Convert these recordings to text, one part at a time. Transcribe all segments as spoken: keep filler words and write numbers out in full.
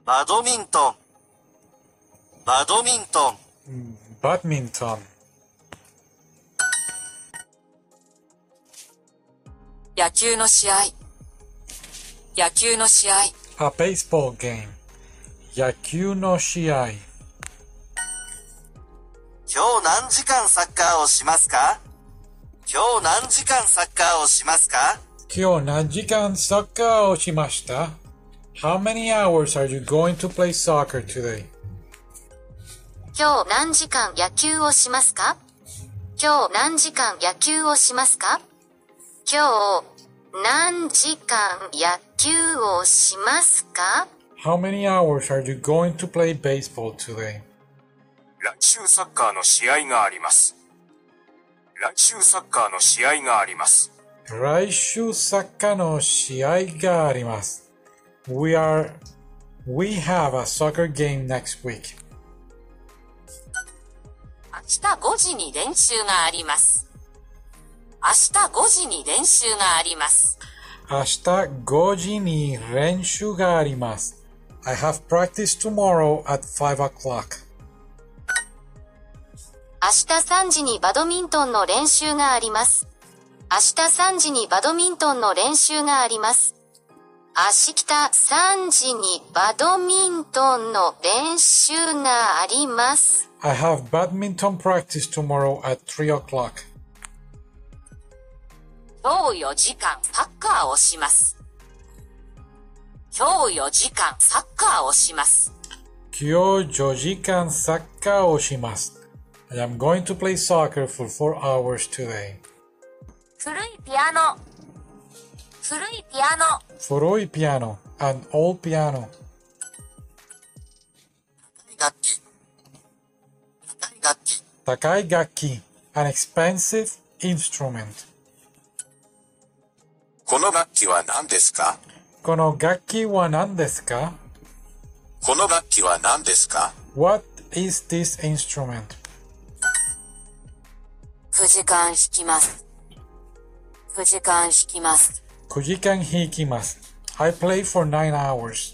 バドミントン、バドミントン。 badminton. 野球の試合、野球の試合。 A baseball game. 野球の試合。 今日何時間サッカーをしますか？今日何時間サッカーをしますか？ 今日何時間サッカーをしました？ How many hours are you going to play soccer today? 今日何時間野球をしますか？今日何時間野球をしますか？今日何時間野球をしますか？ How many hours are you going to play baseball today? 来週サッカーの試合があります。来週サッカーの試合があります。 来週サッカーの試合があります。We are, we have a soccer game next week. 明日ごじに練習があります。明日ごじに練習があります。 明日ごじに練習があります。I have practice tomorrow at five o'clock. 明日さんじにバドミントンの練習があります。明日さんじにバドミントンの練習があります。明日さんじにバドミントンの練習があります。 I have badminton practice tomorrow at three o'clock. 今日よじかんサッカーをします。今日よじかんサッカーをします。 今日よじかんサッカーをします。I am going to play soccer for four hours today. 古いピアノ、古いピアノ。 古いピアノ an old piano. 楽器、楽器。 高い楽器 an expensive instrument. この楽器は何ですか？ この楽器は何ですか？ この楽器は何ですか？ What is this instrument? くじかん弾きます。くじかん弾きます。 くじかん弾きます。I play for nine hours.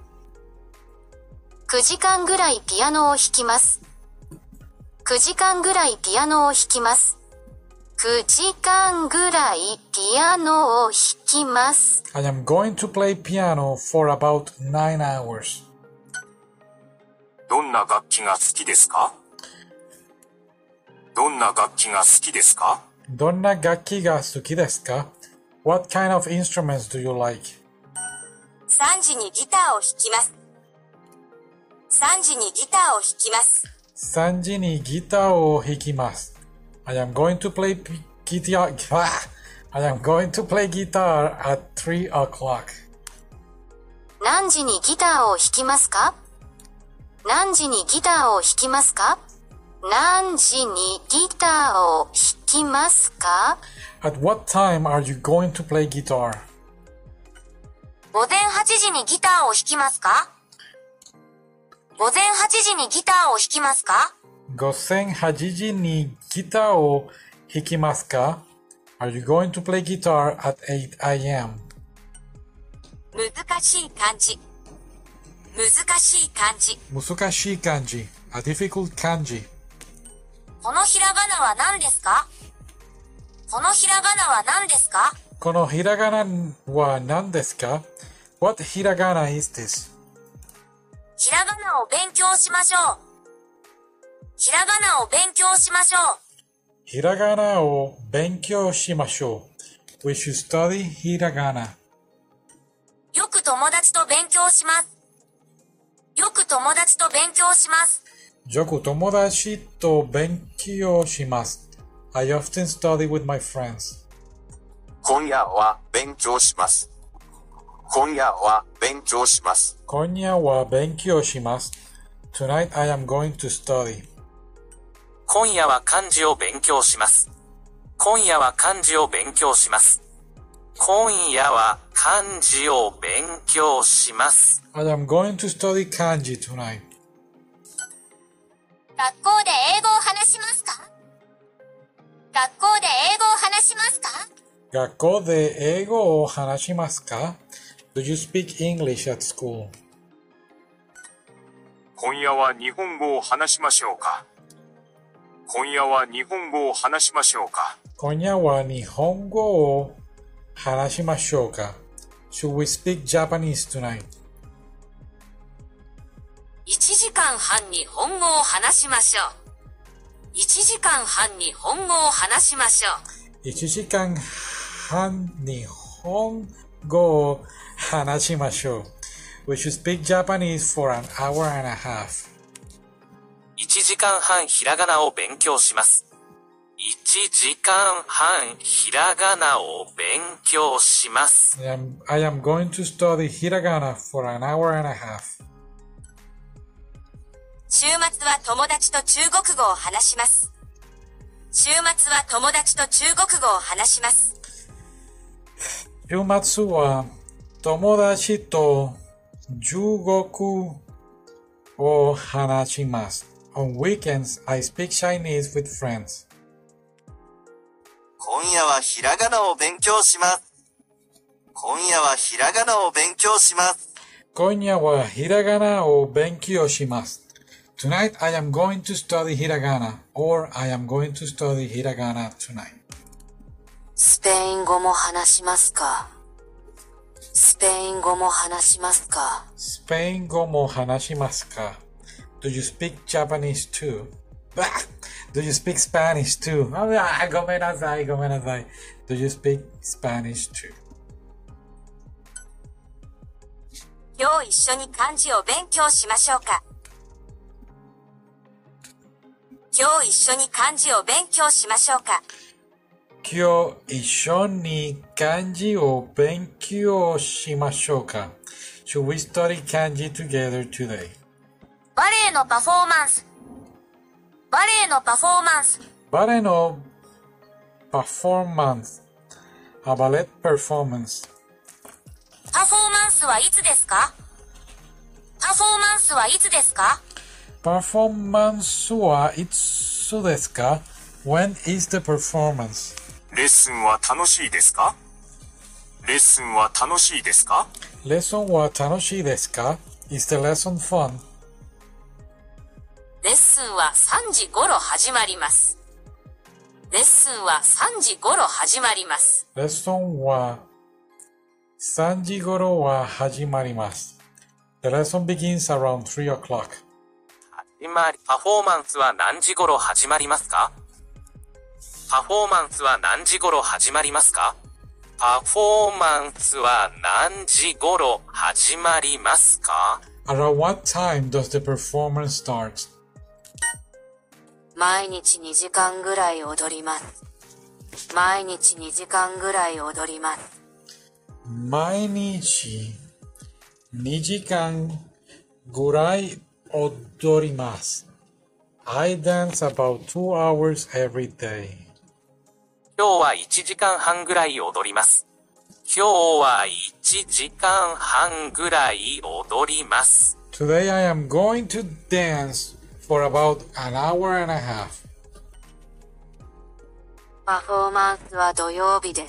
くじかんぐらいピアノを弾きます。くじかんぐらいピアノを弾きます。くじかんぐらいピアノを弾きます。 I am going to play piano for about nine hours. どんな楽器が好きですか？どんな楽器が好きですか？ どんな楽器が好きですか？ What kind of instruments do you like? さんじにギターを弾きます。さんじにギターを弾きます。 さんじにギターを弾きます。I am going to play guitar. I am going to play guitar at three o'clock. 何時にギターを弾きますか？何時にギターを弾きますか？何時にギターを弾きますか？ At what time are you going to play guitar? 午前はちじにギターを弾きますか？午前はちじにギターを弾きますか？ 午前はちじにギターを弾きますか？ Are you going to play guitar at eight a.m.? 難しい漢字。難しい漢字。 難しい漢字。A difficult 漢字。 このひらがなは何ですか？このひらがなは何ですか？ このひらがなは何ですか？ What ひらがな is this? ひらがなを勉強しましょう。ひらがなを勉強しましょう。 ひらがなを勉強しましょう。We should study ひらがな。 よく友達と勉強します。よく友達と勉強します。 よく友達と勉強します。I often study with my friends. 今夜は勉強します。今夜は勉強します。 今夜は勉強します。Tonight I am going to study. 今夜は漢字を勉強します。今夜は漢字を勉強します。今夜は漢字を勉強します。 I am going to study kanji tonight. 学校で英語を話しますか？学校で英語を話しますか？ 学校で英語を話しますか？ Do you speak English at school? 今夜は日本語を話しましょうか。今夜は日本語を話しましょうか。 今夜は日本語を話しましょうか。Should we speak Japanese tonight? いちじかんはん日本語を話しましょう。いちじかんはん日本語を話しましょう。 いちじかんはん日本語を話しましょう。We should speak Japanese for an hour and a half. いちじかんはんひらがなを勉強します。いちじかんはんひらがなを勉強します。 I am, I am going to study hiragana for an hour and a half. 週末は友達と中国語を話します。週末は友達と中国語を話します。 週末は友達と中国語を話します。On weekends, I speak Chinese with friends. 今夜はひらがなを勉強します。今夜はひらがなを勉強します。 今夜はひらがなを勉強します。Tonight I am going to study hiragana, or I am going to study hiragana tonight. スペイン語も話しますか？スペイン語も話しますか？ スペイン語も話しますか？ Do you speak Japanese too? Bah! Do you speak Spanish too? Ah, ごめんなさい、ごめんなさい。Do you speak Spanish too? 今日一緒に漢字を勉強しましょうか。今日一緒に漢字を勉強しましょうか。 今日一緒に漢字を勉強しましょうか。Should we study kanji together today? バレエのパフォーマンス。バレエのパフォーマンス。 バレエのパフォーマンス。A ballet performance. パフォーマンスはいつですか？パフォーマンスはいつですか？ パフォーマンスはいつですか？ When is the performance? レッスンは楽しいですか？レッスンは楽しいですか？ レッスンは楽しいですか？ Is the lesson fun? レッスンはさんじ頃始まります。レッスンはさんじ頃始まります。 レッスンはさんじ頃は始まります。The lesson begins around three o'clock. 始まり、パフォーマンスは何時頃始まりますか？パフォーマンスは何時頃始まりますか？パフォーマンスは何時頃始まりますか？ Around what time does the performance start? 毎日にじかんぐらい踊ります。毎日にじかんぐらい踊ります。 毎日にじかんぐらい踊ります。I dance about two hours every day. 今日はいちじかんはんぐらい踊ります。今日はいちじかんはんぐらい踊ります。 Today I am going to dance for about an hour and a half. パフォーマンスは土曜日です。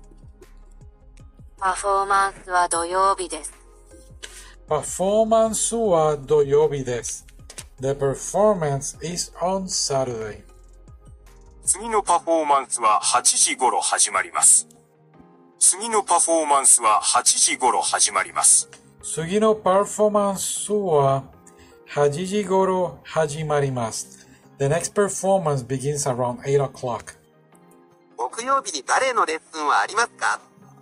パフォーマンスは土曜日です。 パフォーマンスは土曜日です。The performance is on Saturday. 次のパフォーマンスははちじ頃始まります。次のパフォーマンスははちじ頃始まります。 次のパフォーマンスははちじ頃始まります。The next performance begins around eight o'clock. 木曜日にバレエのレッスンはありますか？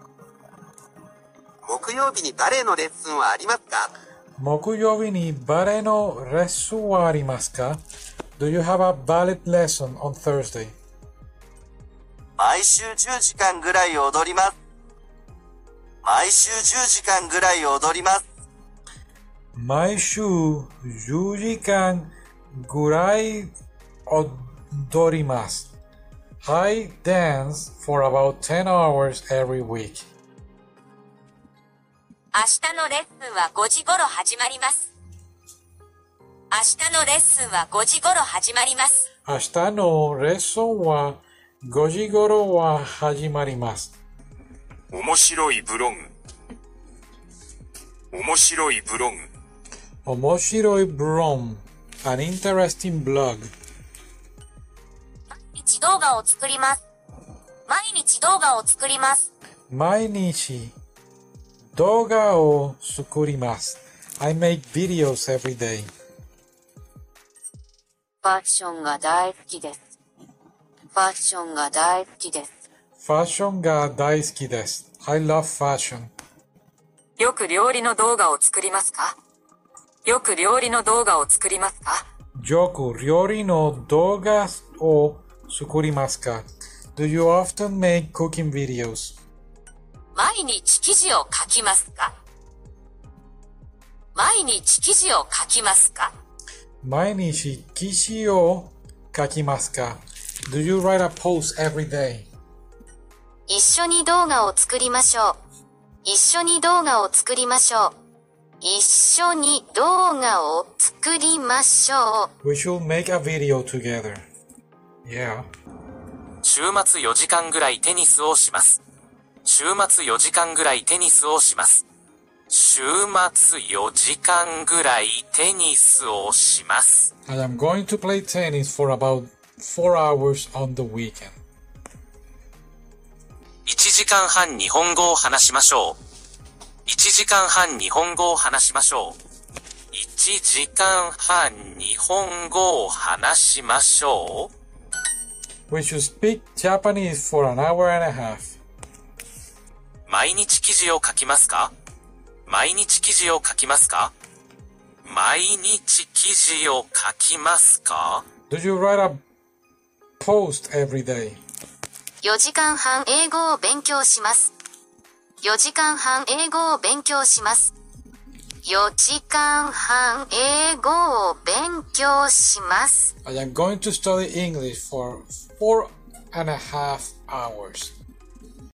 木曜日にバレエのレッスンはありますか？ 木曜日にバレエのレッスンはありますか？ Do you have a ballet lesson on Thursday? 毎週じゅうじかんぐらい踊ります。毎週じゅうじかんぐらい踊ります。 毎週じゅうじかんぐらい踊ります。I dance for about ten hours every week. 明日のレッスンはごじ頃始まります。明日のレッスンはごじ頃始まります。 明日のレッスンはごじ頃は始まります。 面白いブログ。面白いブログ。 Omoshiroi Brom, an interesting blog. 毎日動画を作ります。毎日動画を作ります。 毎日動画を作ります。I make videos every day. ファッションが大好きです。ファッションが大好きです。 ファッションが大好きです。I love fashion. よく料理の動画を作りますか？よく料理の動画を作りますか？ よく料理の動画を作りますか？ Do you often make cooking videos? 毎日記事を書きますか？毎日記事を書きますか？ 毎日記事を書きますか？ Do you write a post every day? 一緒に動画を作りましょう。一緒に動画を作りましょう。一緒に動画を作りましょう。 We should make a video together. Yeah. 週末よじかんぐらいテニスをします。週末よじかんぐらいテニスをします。週末よじかんぐらいテニスをします。 I am going to play tennis for about four hours on the weekend. いちじかんはん日本語を話しましょう。いちじかんはん日本語を話しましょう。いちじかんはん日本語を話しましょう。 We should speak Japanese for an hour and a half. 毎日記事を書きますか？毎日記事を書きますか？毎日記事を書きますか？ Do you write a post every day? よじかんはん英語を勉強します。よじかんはん英語を勉強します。よじかんはん英語を勉強します。 I am going to study English for four and a half hours.